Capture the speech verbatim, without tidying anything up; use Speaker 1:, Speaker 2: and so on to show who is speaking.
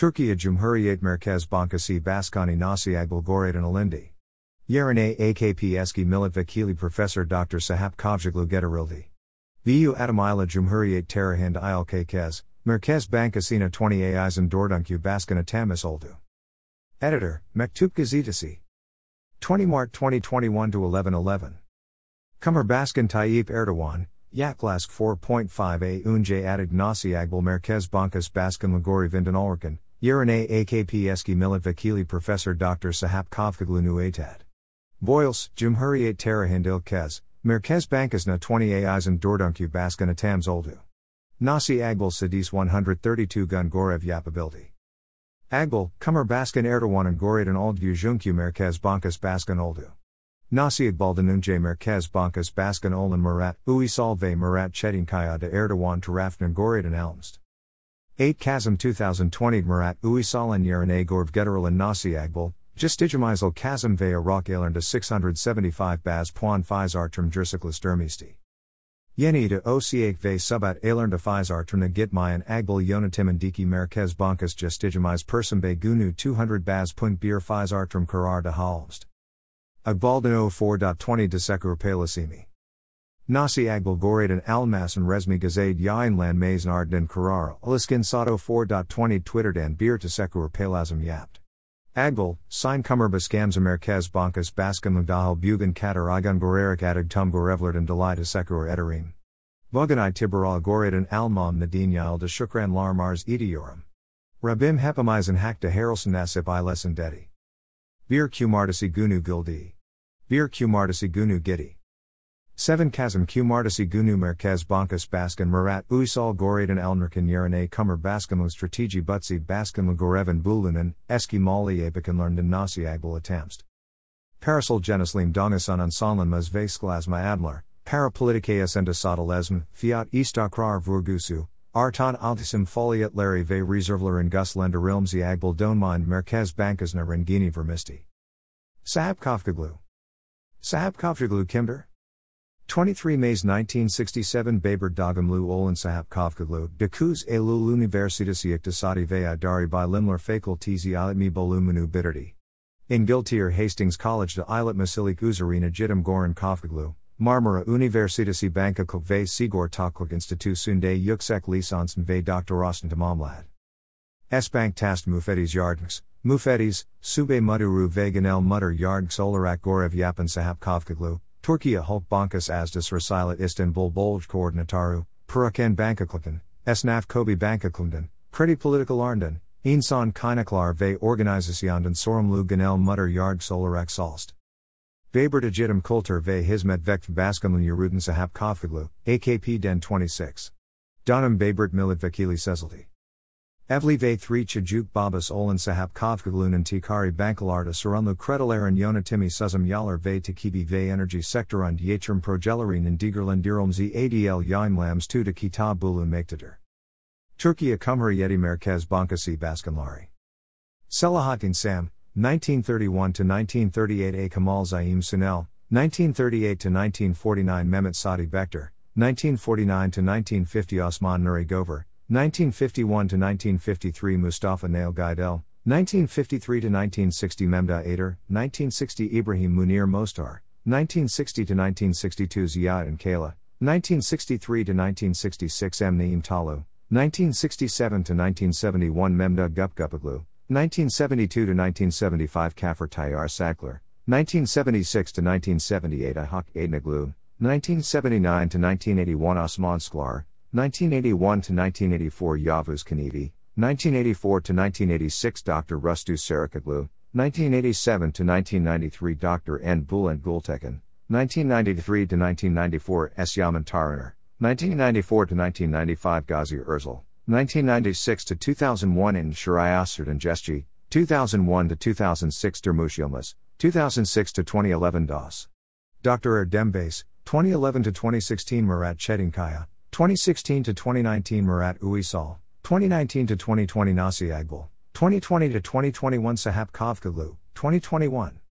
Speaker 1: Türkiye Cumhuriyet Merkez Bankası Başkanı Nasih Agbal Goray'dan alındı. Yerine A K P eski milletvekili Profesör Doktor Sahap Kavcıoglu getirildi. Bu adımıyla Cumhuriyet tarihinde ilk kez, Merkez Bankası'na yirmi ayın dördüncü başkanı tamis oldu. Editor, Mektup Gazetesi. twenty March twenty twenty-one to eleven eleven. Cumhurbaşkanı Tayyip Erdoğan, yaklaşık four point five a önce added Nasih Agbal Merkez Bankası Başkanlığı görevinden alırken, yerine A K P eski milletvekili Profesör Doktor Sahap Kavcıoglu'nu atadı. Boyles, Cumhuriyet tarihinde ilk kez, Merkez Bankası'na yirmi ayın dördüncü başkanı tamis oldu. Nasih Agbal Sadis one hundred thirty-two gun görev yapabildi. Agbal, Cumhurbaşkanı Erdoğan'ın görevden aldığı Jünkü Merkez Bankası Başkanı oldu. Nasih Agbal'dan önce Merkez Bankası Başkanı olan Murat Uysal ve Murat Çetinkaya da Erdoğan tarafından görevden alınmıştı. eight Kasım twenty twenty Murat Uysal'ın yerine görev getirilen Nasih Agbal, Justicimazel Kasım ve Aralık aylarında six hundred seventy-five baz puan faiz artırmıştı. Yeni de Ocak ve Subat aylarında faiz artırına gitmeyen Agbal yönetimindeki Merkez Bankası Justicimaz Perşembe günü two hundred baz puan bir faiz artırım kararı almıştı. Agbal'dan o four twenty Teşekkür Paylaşımı. Nasih Agbal görevden almasın resmi gazete yayınlanmasın ardından kararı alışkın saat o four twenty Twitter'dan bir teşekkür paylaşım yaptı. Agbal, sign Cumhurbaşkanı Merkez Bankası Başkanlığı dahil bugün kadar igun görerek atık tüm görevlerden dolayı teşekkür ederim. Bugün itibarıyla görevden almam nedeniyle şükranlarım arz ediyorum. Rabbim hepimizin hakta harılsın nasip eylesin dedi. Bir cumartesi günü gildi. Bir cumartesi günü gitti. seven Kasım Cumartesi günü Merkez Bankası Başkanı Murat Uysal görevden alınırken yerine Cumhurbaşkanlığı Strateji Butsi Başkanlığı görevin bulunan eski Maliye Bakanlarından Nasih Agbal atammıştı. Parasal Jenislim Dongasan Sonlanmaz ve Sklazma Adlar, Para Politikaya Sendesatalesm, Fiat İstakrar Vurgusu, Artan Altisim Faaliyetleri ve Reservlerin Guslendirilmzi Agbal Donmind Merkez Bankası'na Rengini Vermisti. Sahap Kavcıoglu. Sahap Kavcıoglu kimdir? twenty-three May nineteen sixty-seven Babur Dağımlı olan Sahap Kavcıoglu, dokuz Eylül Üniversitesi İktisadi ve İdari Bilimler Fakültesi İletmi Bölümünü bitirdi. İngiltere Hastings College'da iletmesilik üzerine eğitim gören Kavcıoglu, Marmara Üniversitesi Bankacılık ve Sigortacılık Enstitüsü'nde yüksek lisansın ve doktorasını tamamladı. S-Bank Tast Müfettiş Yardımcısı, Müfettiş, Sube Müdürü ve Genel Müdür Yardımcısı olarak görev yapan Sahap Kavcıoglu, Türkiye Halk Bankası Asdas Resilat İstanbul Bolj Koordinatoru, Perakende Bankacılık'tan, Esnaf Kobi Bankacılık'tan, Kredi Politikalarından, İnsan Kaynaklar ve Organizasyondan Sorumlu Genel Müdür Yardımcısı olarak çalıştı. Babur Eğitim Kültür ve Hizmet Vakfı Başkanlığı yürüten Sahap Kavcıoglu, A K P'den twenty-six. Dönem Baburt Milletvekili seçildi. Evli ve three çocuk babası olan Sahap Kavcıoglu'nun ticari bankalarda sorumlu kredilerin yönetimi sızımlar ve takibi ve enerji sektöründe yatırım projelerinin değerlendirilmesi adl yayımlanmıştı kitap bulunmaktadır. Türkiye Cumhuriyeti Merkez Bankası Başkanları. Selahattin Sam, nineteen thirty-one to nineteen thirty-eight A. Kemal Zaim Sunel, nineteen thirty-eight to nineteen forty-nine Mehmet Sadi Bektar, nineteen forty-nine to nineteen fifty Osman Nuri Gover, nineteen fifty-one to nineteen fifty-three Mustafa Nail Gaidel, nineteen fifty-three to nineteen sixty Memda Ader, nineteen sixty Ibrahim Munir Mostar, nineteen sixty to nineteen sixty-two Ziad and Kayla, nineteen sixty-three to nineteen sixty-six M. Naim Talu, nineteen sixty-seven to nineteen seventy-one Memda Gupgupaglu, nineteen seventy-two to nineteen seventy-five Kafir Tayyar Sakler, nineteen seventy-six to nineteen seventy-eight Ihak Aidnaglu, nineteen seventy-nine to nineteen eighty-one Osman Sklar, nineteen eighty-one to nineteen eighty-four Yavuz Kanevi, nineteen eighty-four to nineteen eighty-six Doctor Rustu Sarakaglu, nineteen eighty-seven to nineteen ninety-three Doctor N. Bulent Gultekin, nineteen ninety-three to nineteen ninety-four S. Yaman Taraner, nineteen ninety-four to nineteen ninety-five Ghazi Erzal, nineteen ninety-six to two thousand one in Shirayaserd and Jesji, two thousand one to two thousand six Dermush Yilmaz, two thousand six to twenty eleven Das. Doctor Erdembase, twenty eleven to twenty sixteen Murat Çetinkaya, twenty sixteen to twenty nineteen Murat Uysal, twenty nineteen to twenty twenty Nasih Agbal, twenty twenty to twenty twenty-one Sahap Kavcıoglu, twenty twenty-one.